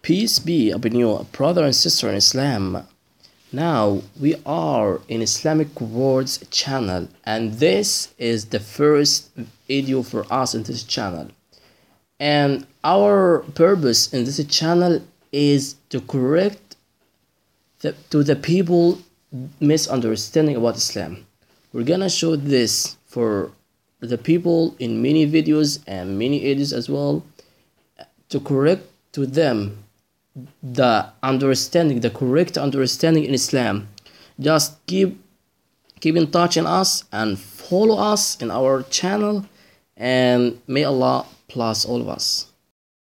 Peace be upon you, brother and sister in Islam. Now we are in Islamic Words channel, and this is the first video for us in this channel. And our purpose in this channel is to correct to the people misunderstanding about Islam. We're gonna show this for the people in many videos and many edits as well, to correct to them the correct understanding in Islam. Just keep in touch in us and follow us in our channel, and may Allah bless all of us.